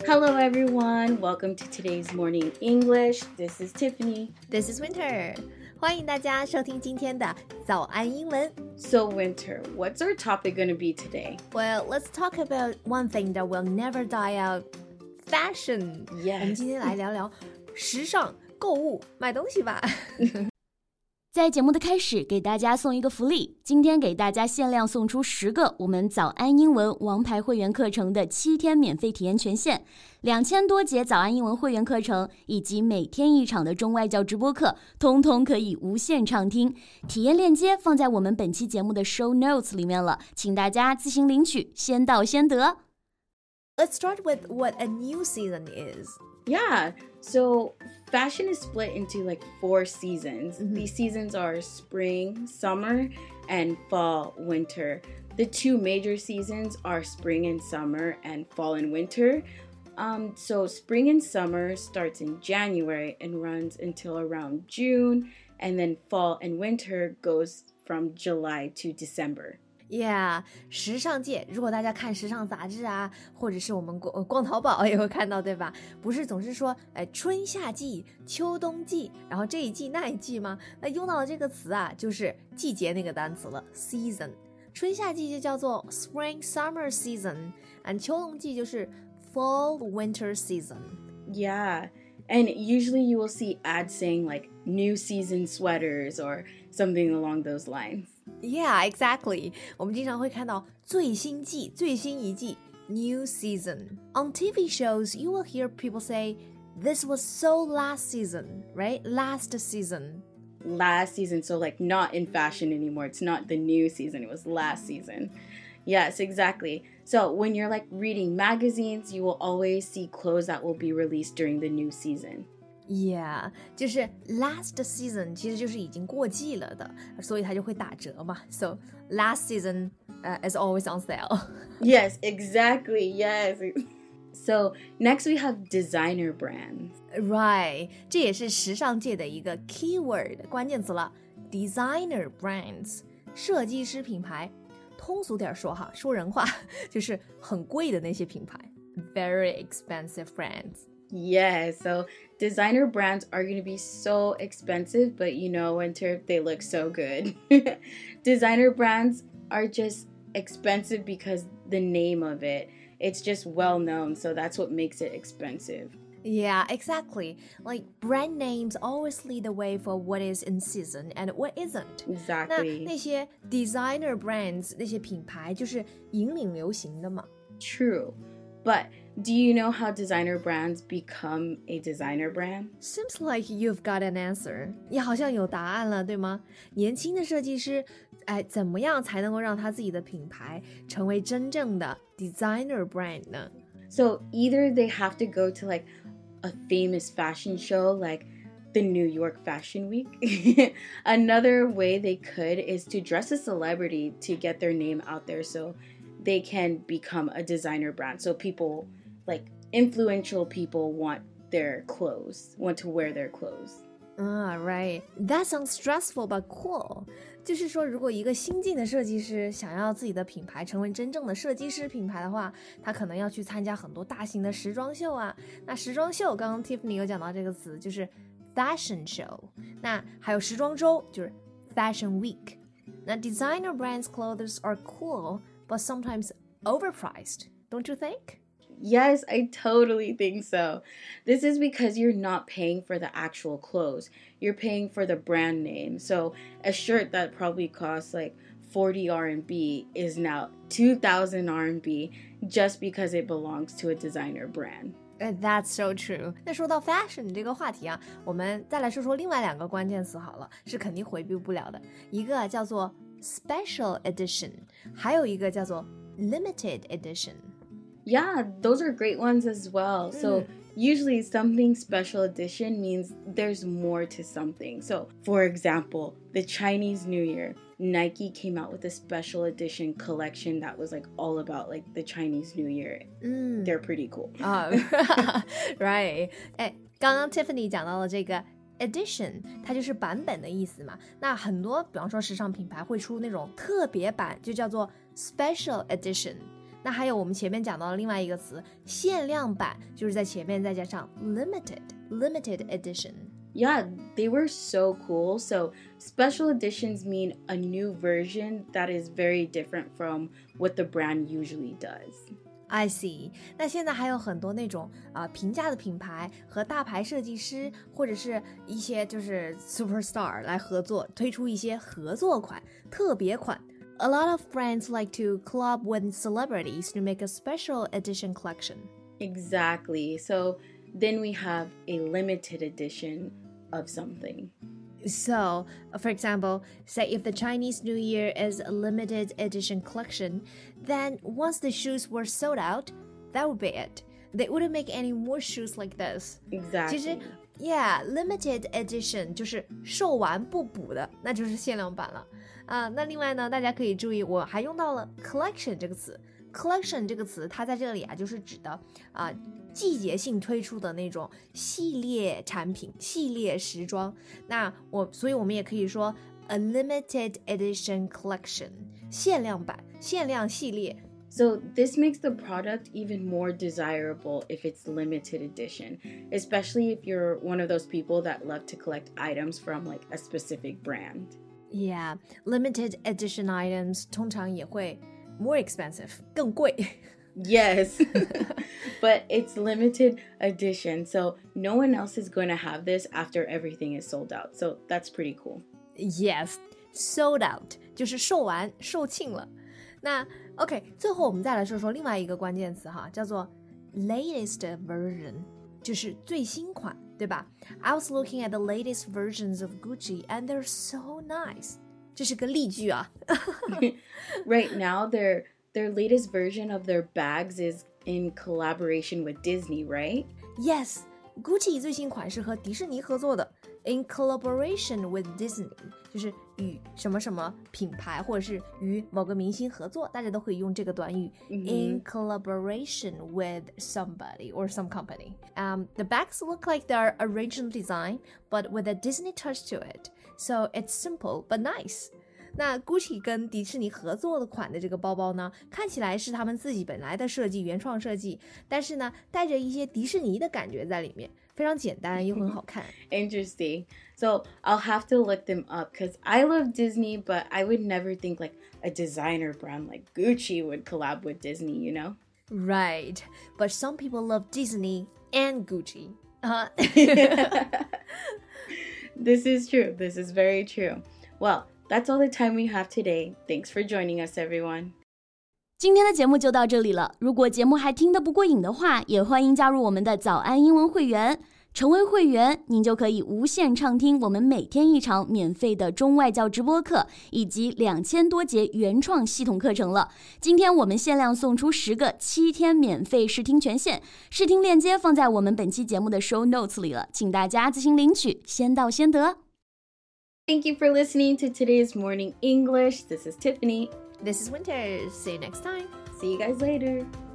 Hello everyone, welcome to today's morning English. This is Tiffany. This is Winter. 欢迎大家收听今天的早安英文。 So Winter, what's our topic going to be today? Well, let's talk about one thing that will never die out. Fashion. Yes. 我们今天来聊聊时尚、购物、买东西吧。 在节目的开始，给大家送一个福利。今天给大家限量送出10个我们早安英文王牌会员课程的7天免费体验权限，2000多节早安英文会员课程以及每天1场的中外教直播课，通通可以无限畅听。体验链接放在我们本期节目的 show notes 里面了，请大家自行领取，先到先得。 Let's start with what a new season is. Yeah, so fashion is split into like 4 seasons. These seasons are spring, summer, and fall, winter. The 2 major seasons are spring and summer and fall and winter. So spring and summer starts in January and runs until around June, and then fall and winter goes from July to December.Yeah, 时尚界，如果大家看时尚杂志啊，或者是我们逛淘宝也会看到，对吧？不是总是说，春夏季、秋冬季，然后这一季那一季吗？那用到的这个词啊，就是季节那个单词了 ，season。春夏季就叫做 spring summer season， 秋冬季就是 fall winter season。 Yeah, and usually you will see ads saying like new season sweaters or something along those lines.Yeah, exactly. 我们经常会看到最新季、最新一季 new season. On TV shows, you will hear people say, this was so last season, right? Last season. Last season, so like not in fashion anymore. It's not the new season, it was last season. Yes, exactly. So when you're like reading magazines, you will always see clothes that will be released during the new season.Yeah, 就是 last season 其实就是已经过季了的，所以它就会打折嘛。So last season is always on sale. Yes, exactly. Yes. So next we have designer brands. Right, 这也是时尚界的一个 keyword 关键词了。Designer brands 设计师品牌，通俗点说哈，说人话就是很贵的那些品牌。Very expensive brands.Yeah, so designer brands are going to be so expensive, but you know, Winter, they look so good. Designer brands are just expensive because the name of it. It's just well known, so that's what makes it expensive. Yeah, exactly. Like brand names always lead the way for what is in season and what isn't. Exactly. 那些 designer brands 那些品牌就是引领流行的嘛。 True, but do you know how designer brands become a designer brand? Seems like you've got an answer. 你好像有答案了，对吗？年轻的设计师，怎么样才能够让他自己的品牌成为真正的 designer brand 呢？ So either they have to go to like a famous fashion show like the New York Fashion Week. Another way they could is to dress a celebrity to get their name out there so they can become a designer brand. So people, like influential people want to wear their clothes. Right. That sounds stressful but cool. 就是说，如果一个新晋的设计师想要自己的品牌成为真正的设计师品牌的话，他可能要去参加很多大型的时装秀啊。那时装秀，刚刚 Tiffany 有讲到这个词，就是 fashion show。那还有时装周，就是 fashion week。那 designer brands clothes are cool, but sometimes overpriced, don't you think?Yes, I totally think so. This is because you're not paying for the actual clothes. You're paying for the brand name. So a shirt that probably costs like 40 RMB is now 2,000 RMB just because it belongs to a designer brand. That's so true. 那说到 fashion 这个话题啊，我们再来说说另外2个关键词好了，是肯定回避不了的。一个叫做 special edition， 还有一个叫做 limited edition.Yeah, those are great ones as well. So usually something special edition means there's more to something. So for example, the Chinese New Year, Nike came out with a special edition collection that was like all about like the Chinese New Year. They're pretty cool. Right. 刚刚 Tiffany 讲到了这个edition 它就是版本的意思嘛，那很多比方说时尚品牌会出那种特别版，就叫做 special edition。 那还有我们前面讲到的另外一个词限量版，就是在前面再加上 limited edition。Yeah, they were so cool. So special editions mean a new version that is very different from what the brand usually does.I see. 那现在还有很多那种平价的品牌和大牌设计师或者是一些就是 superstar 来合作，推出一些合作款、特别款。A lot of brands like to collab with celebrities to make a special edition collection. Exactly. So then we have a limited edition of something. So, for example, say if the Chinese New Year is a limited edition collection, then once the shoes were sold out, that would be it. They wouldn't make any more shoes like this. Exactly. 其实 Yeah, limited edition 就是售完不补的，那就是限量版了。那另外呢，大家可以注意，我还用到了 collection 这个词。collection 这个词，它在这里就是指的季节性推出的那种系列产品、系列时装。所以我们也可以说 a limited edition collection， 限量版、限量系列。 So this makes the product even more desirable if it's limited edition, especially if you're one of those people that love to collect items from like a specific brand. Yeah, limited edition items 通常也会more expensive, 更贵。 Yes, but it's limited edition, so no one else is going to have this after everything is sold out. So that's pretty cool. Yes, sold out 就是售完、售罄了。那 OK， 最后我们再来说说另外一个关键词哈，叫做 latest version， 就是最新款，对吧？ I was looking at the latest versions of Gucci and they're so nice. 这是个例句啊。 Right now, their latest version of their bags is in collaboration with Disney, right? Yes, Gucci 最新款是和迪士尼合作的。In collaboration with Disney 就是与什么什么品牌或者是与某个明星合作，大家都可以用这个短语。In collaboration with somebody or some company. The bags look like they're original design, but with a Disney touch to it. So it's simple but nice. 那 Gucci 跟迪士尼合作的款的这个包包呢，看起来是他们自己本来的设计，原创设计，但是呢，带着一些迪士尼的感觉在里面。非常简单又很好看。 Interesting. So I'll have to look them up because I love Disney, but I would never think like a designer brand like Gucci would collab with Disney, you know? Right. But some people love Disney and Gucci. This is true. This is very true. Well, that's all the time we have today. Thanks for joining us, everyone. 今天的节目就到这里了。如果节目还听得不过瘾的话，也欢迎加入我们的早安英文会员。成为会员，您就可以无限畅听我们每天一场免费的中外教直播课，以及2000多节原创系统课程了。今天我们限量送出10个7天免费试听权限，试听链接放在我们本期节目的 show notes 里了，请大家自行领取，先到先得。 Thank you for listening to today's Morning English. This is Tiffany. This is Winter. See you next time. See you guys later.